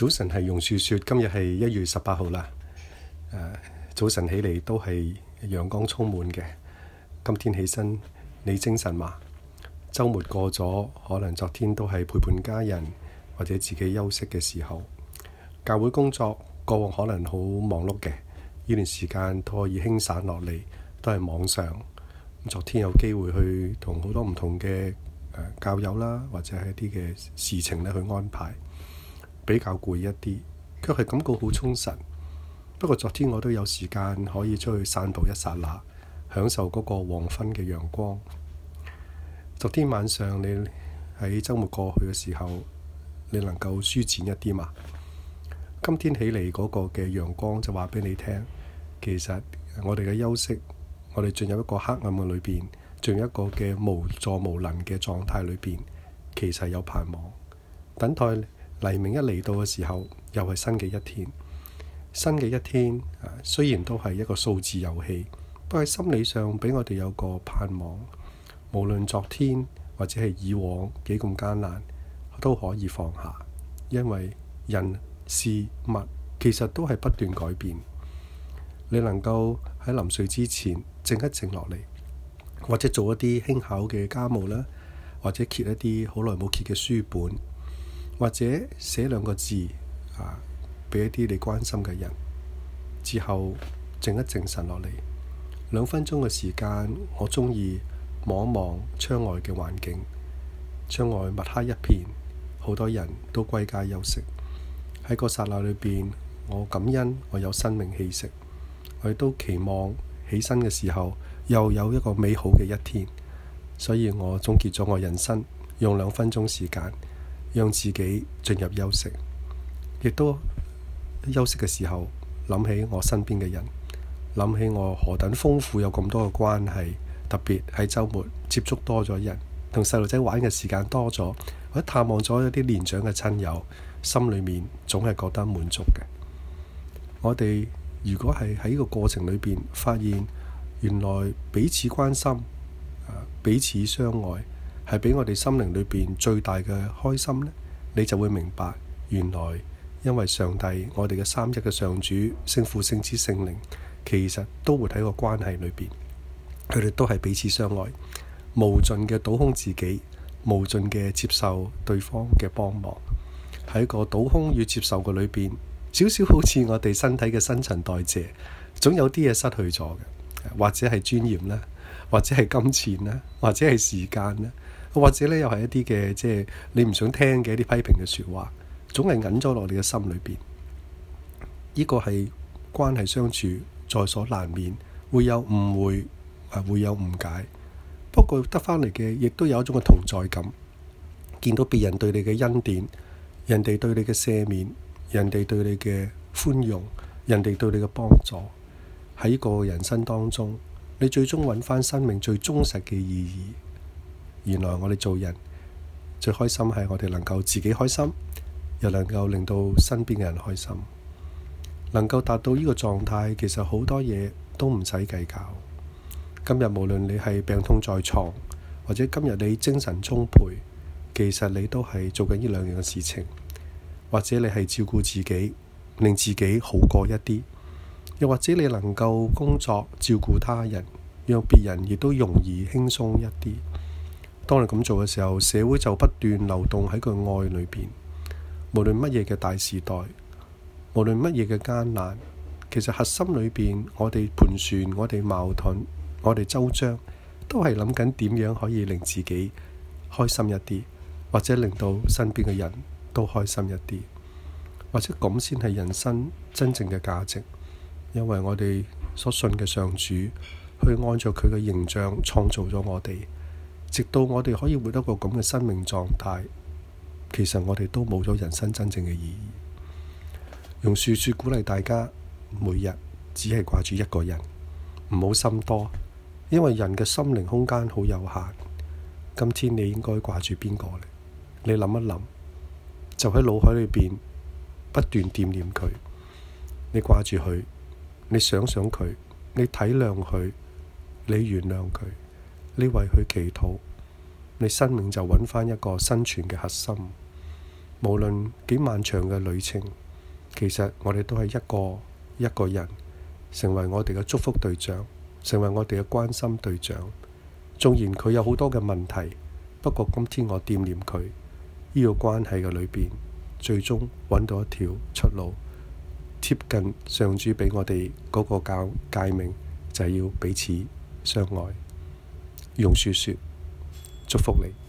早晨係榕樹說，今日係1月18號啦。早晨起嚟都係陽光充滿嘅。今天起身，你精神嘛？週末過咗，可能昨天都係陪伴家人或者自己休息嘅時候。教會工作過往可能好忙碌嘅，呢段時間都可以輕散落嚟，都係網上。昨天有機會去同好多唔同嘅教友啦，或者係一啲嘅事情咧去安排。比較攰一啲，卻係感覺好充實。不過昨天我都有時間可以出去散步一剎那，享受嗰個黃昏嘅陽光。昨天晚上你喺週末過去嘅時候，你能夠舒展一啲嘛？今天起嚟嗰個嘅陽光就話俾你聽，其實我哋嘅休息，我哋進入一個黑暗嘅裏邊，進入一個嘅無助無能嘅狀態裏邊，其實有盼望，等待黎明一嚟到嘅時候，又係新嘅一天。新嘅一天，雖然都係一個數字遊戲，都喺心理上俾我哋有個盼望。無論昨天或者係以往幾咁艱難，都可以放下，因為人事物其實都係不斷改變。你能夠喺臨睡之前靜一靜落嚟，或者做一啲輕巧嘅家務啦，或者揭一啲好耐冇揭嘅書本。或者寫2個字俾一啲你關心嘅人，之後靜一靜神落嚟2分鐘嘅時間，我中意望一望窗外嘅環境。窗外墨黑一片，好多人都歸家休息。喺個剎那裏邊，我感恩我有生命氣息，我亦都期望起身嘅時候又有一個美好嘅一天。所以我終結咗我人生，用2分鐘時間讓自己進入休息，亦都休息嘅時候諗起我身邊嘅人，諗起我何等豐富有咁多嘅關係，特別喺週末接觸多咗人，同細路仔玩嘅時間多咗，或者探望咗一啲年長嘅親友，心裏面總係覺得滿足嘅。我哋如果係喺呢個過程裏邊發現原來彼此關心，彼此相愛，係俾我哋心靈裏邊最大嘅開心呢，你就會明白，原來因為上帝，我哋嘅三一嘅上主，聖父、聖子、聖靈，其實都活喺個關係裏邊，佢哋都係彼此相愛，無盡嘅倒空自己，無盡嘅接受對方嘅幫忙。喺個倒空與接受嘅裏邊，少少好似我哋身體嘅新陳代謝，總有啲嘢失去咗嘅，或者係尊嚴啦，或者係金錢啦，或者係時間啦。或者咧，又係一啲嘅即係你唔想聽嘅一啲批評嘅説話，總係揞咗落你嘅心裏邊。呢個係關係相處在所難免，會有誤會，會有誤解。不過得返嚟嘅，亦都有一種嘅同在感。見到別人對你嘅恩典，人哋對你嘅赦免，人哋對你嘅寬容，人哋對你嘅幫助，喺呢個人生當中，你最終揾返生命最忠實嘅意義。原來我哋做人最開心係我哋能夠自己開心，又能夠令到身邊嘅人開心，能夠達到呢個狀態，其實好多嘢都唔使計較。今日無論你係病痛在床，或者今日你精神充沛，其實你都係做緊呢2樣嘅事情，或者你係照顧自己，令自己好過一啲，又或者你能夠工作照顧他人，讓別人亦都容易輕鬆一啲。當你咁做嘅時候，社會就不斷流動喺個愛裏邊。無論乜嘢嘅大時代，無論乜嘢嘅艱難，其實核心裏邊，我哋盤旋，我哋矛盾，我哋周章，都係諗緊點樣可以令自己開心一啲，或者令到身邊嘅人都開心一啲，或者咁先係人生真正嘅價值。因為我哋所信嘅上主，去按照佢嘅形象創造咗我哋。直到我哋可以活一個咁嘅生命狀態，其實我哋都冇咗人生真正嘅意義。用樹說鼓勵大家，每日只係掛住一個人，唔好心多，因為人嘅心靈空間好有限。今天你應該掛住邊個呢？你諗一諗，就喺腦海裏邊不斷惦念佢。你掛住佢，你想想佢，你體諒佢，你原諒佢。你為佢祈禱，你生命就揾返一個生存嘅核心。 無論幾漫長嘅旅程，其實我哋都係一個人，成為我哋嘅祝福對象，成為我哋嘅關心對象。縱然佢有好多嘅問題，不過今天我惦念佢，呢個關係嘅裏邊，最終揾到一條出路，貼近上主俾我哋嗰個誡命，就係要彼此相愛。榕樹說：祝福你。